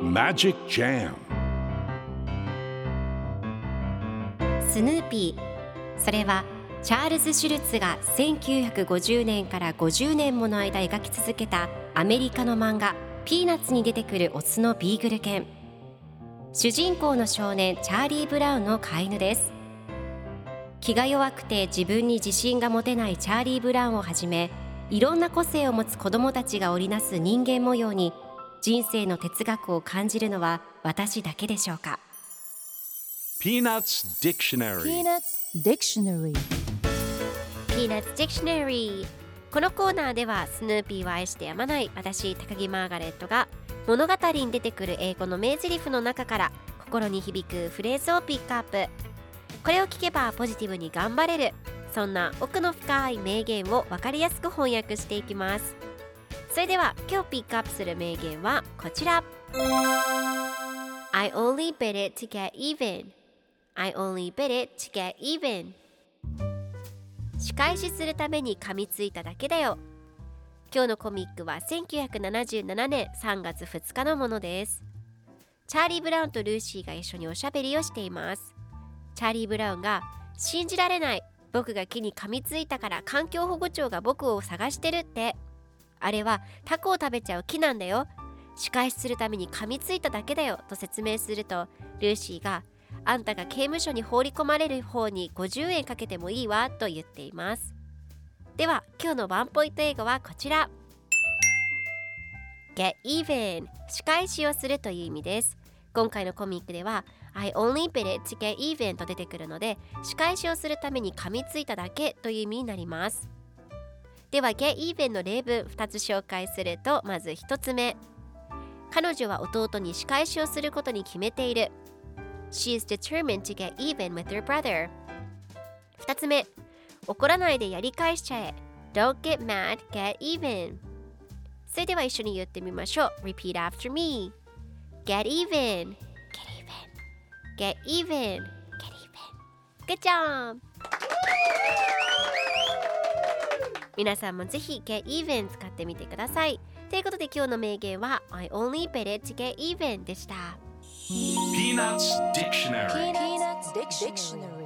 Magic Jam スヌーピー、それはチャールズ・シュルツが1950年から50年もの間描き続けたアメリカの漫画ピーナッツに出てくるオスのビーグル犬。主人公の少年チャーリー・ブラウンの飼い犬です。気が弱くて自分に自信が持てないチャーリー・ブラウンをはじめ、いろんな個性を持つ子どもたちが織りなす人間模様に人生の哲学を感じるのは私だけでしょうか。 Peanuts Dictionary Peanuts Dictionary Peanuts Dictionary。 このコーナーではスヌーピーを愛してやまない私高木マーガレットが物語に出てくる英語の名台詞の中から心に響くフレーズをピックアップ。これを聞けばポジティブに頑張れる、そんな奥の深い名言を分かりやすく翻訳していきます。それでは今日ピックアップする名言はこちら。 I only bid it to get even I only bid it to get even。 仕返しするために噛みついただけだよ。今日のコミックは1977年3月2日のものです。チャーリー・ブラウンとルーシーが一緒におしゃべりをしています。チャーリー・ブラウンが、信じられない、僕が木に噛みついたから環境保護庁が僕を探してるって。あれはタコを食べちゃう木なんだよ。仕返しするために噛みついただけだよと説明すると、ルーシーが、あんたが刑務所に放り込まれる方に50円かけてもいいわと言っています。では今日のワンポイント英語はこちら。 Get even、 仕返しをするという意味です。今回のコミックでは I only bid it to get even と出てくるので、仕返しをするために噛みついただけという意味になります。では get even の例文2つ紹介すると、まず1つ目、彼女は弟に仕返しをすることに決めている。 She is determined to get even with her brother。 2つ目、怒らないでやり返しちゃえ。 Don't get mad, get even。 それでは一緒に言ってみましょう。 Repeat after me。 Get even, get even, get even, get even。 Good job。 皆さんもぜひ get even 使ってみてください。ということで今日の名言は I only bid it to get even でした。 Peanuts Dictionary Peanuts Dictionary